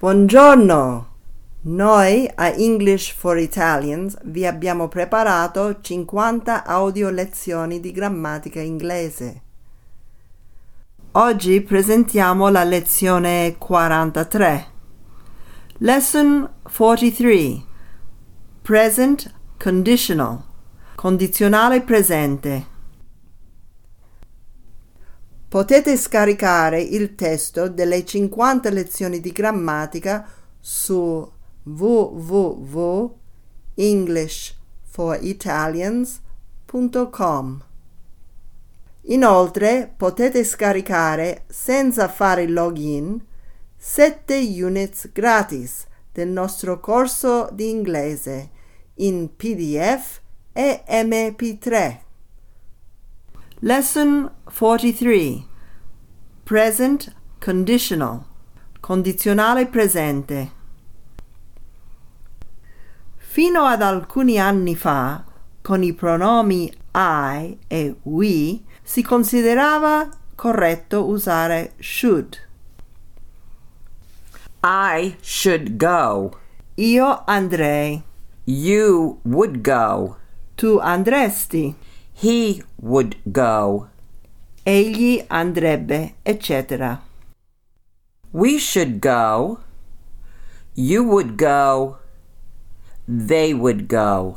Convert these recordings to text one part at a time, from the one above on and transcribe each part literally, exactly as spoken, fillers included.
Buongiorno! Noi a English for Italians vi abbiamo preparato cinquanta audio lezioni di grammatica inglese. Oggi presentiamo la lezione quarantatré. Lesson forty-three. Present conditional. Condizionale presente. Potete scaricare il testo delle cinquanta lezioni di grammatica su w w w punto english for italians punto com. Inoltre potete scaricare senza fare login sette units gratis del nostro corso di inglese in P D F e M P tre. Lesson forty-three. Present conditional. Condizionale presente. Fino ad alcuni anni fa, con i pronomi I e we, si considerava corretto usare should. I should go. Io andrei. You would go. Tu andresti. He would go. Egli andrebbe, eccetera. We should go. You would go. They would go.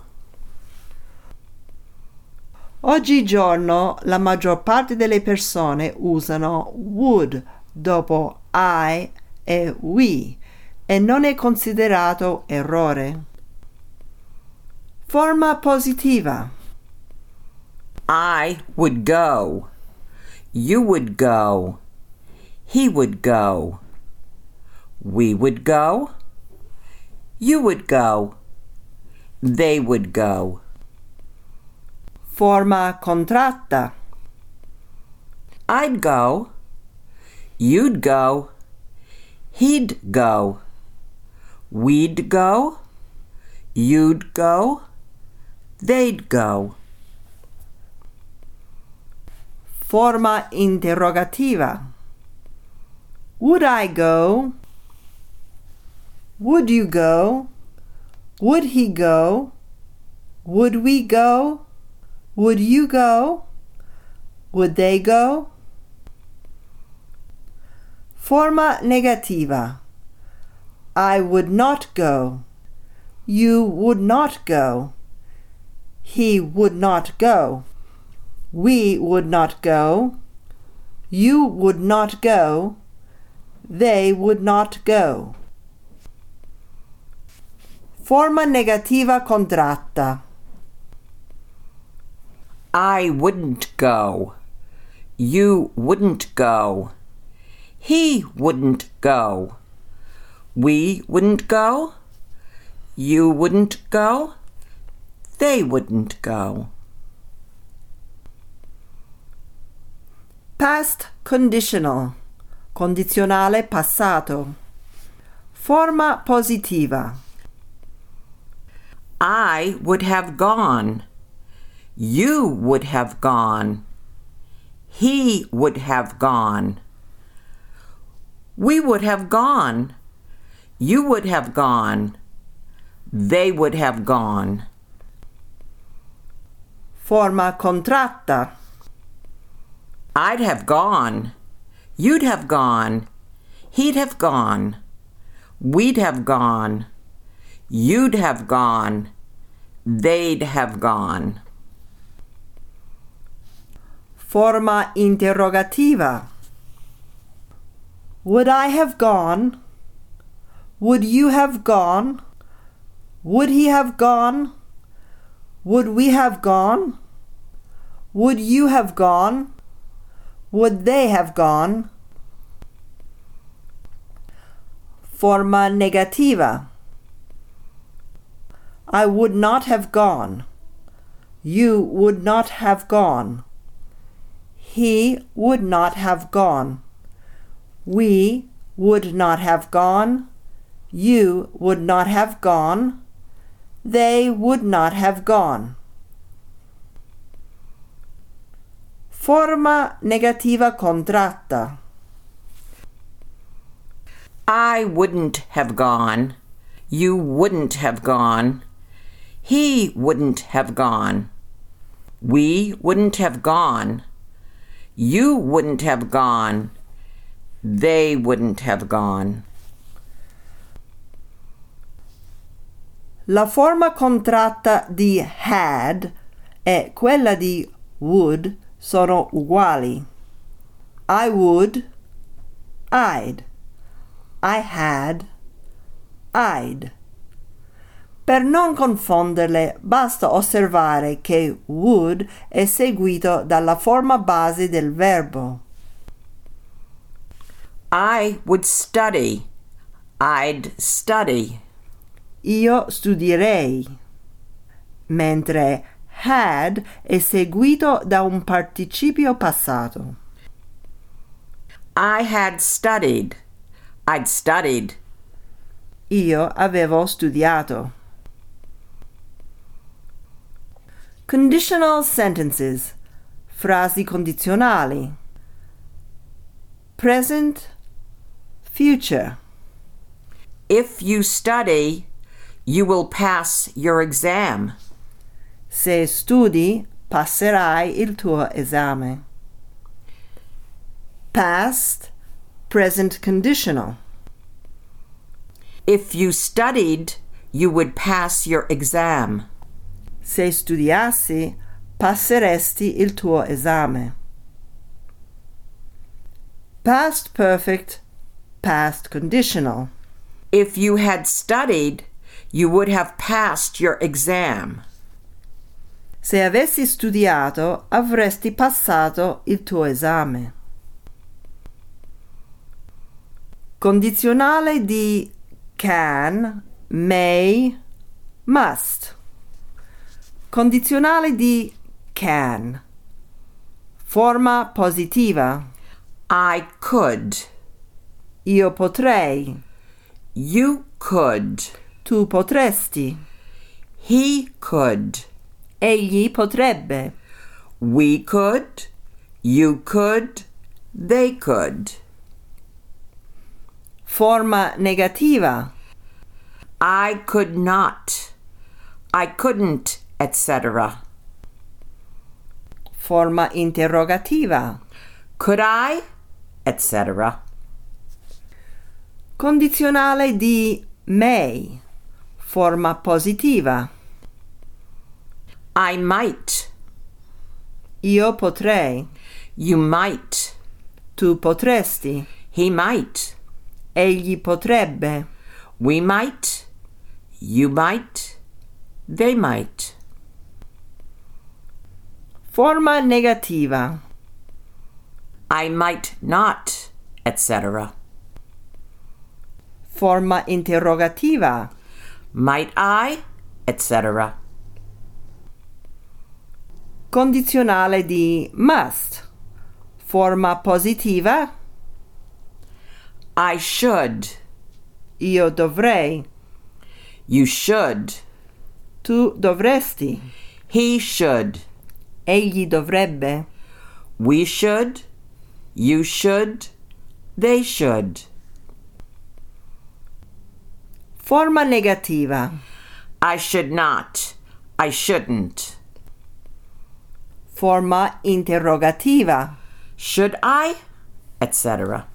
Oggigiorno la maggior parte delle persone usano would dopo I e we e non è considerato errore. Forma positiva. I would go. You would go. He would go. We would go. You would go. They would go. Forma contratta. I'd go. You'd go. He'd go. We'd go. You'd go. They'd go. Forma interrogativa. Would I go? Would you go? Would he go? Would we go? Would you go? Would they go? Forma negativa. I would not go. You would not go. He would not go. We would not go. You would not go. They would not go. Forma negativa contratta. I wouldn't go. You wouldn't go. He wouldn't go. We wouldn't go. You wouldn't go. They wouldn't go. Past conditional. Condizionale passato. Forma positiva. I would have gone. You would have gone. He would have gone. We would have gone. You would have gone. They would have gone. Forma contratta. I'd have gone. You'd have gone. He'd have gone. We'd have gone. You'd have gone. They'd have gone. Forma interrogativa. Would I have gone? Would you have gone? Would he have gone? Would we have gone? Would you have gone? Would they have gone? Forma negativa. I would not have gone. You would not have gone. He would not have gone. We would not have gone. You would not have gone. They would not have gone. Forma negativa contratta. I wouldn't have gone. You wouldn't have gone. He wouldn't have gone. We wouldn't have gone. You wouldn't have gone. They wouldn't have gone. La forma contratta di had e quella di would sono uguali. I would, I'd. I had, I'd. Per non confonderle, basta osservare che would è seguito dalla forma base del verbo. I would study. I'd study. Io studierei. Mentre had è seguito da un participio passato. I had studied. I'd studied. Io avevo studiato. Conditional sentences. Frasi condizionali. Present, future. If you study, you will pass your exam. Se studi, passerai il tuo esame. Past, present conditional. If you studied, you would pass your exam. Se studiassi, passeresti il tuo esame. Past perfect, past conditional. If you had studied, you would have passed your exam. Se avessi studiato, avresti passato il tuo esame. Condizionale di can, may, must. Condizionale di can. Forma positiva. I could. Io potrei. You could. Tu potresti. He could. Egli potrebbe. We could. You could. They could. Forma negativa. I could not. I couldn't, et cetera. Forma interrogativa. Could I, et cetera. Condizionale di may. Forma positiva. I might. Io potrei. You might. Tu potresti. He might. Egli potrebbe. We might. You might. They might. Forma negativa. I might not, et cetera. Forma interrogativa. Might I, et cetera. Condizionale di must. Forma positiva. I should. Io dovrei. You should. Tu dovresti. He should. Egli dovrebbe. We should. You should. They should. Forma negativa. I should not. I shouldn't. Forma interrogativa. Should I, et cetera.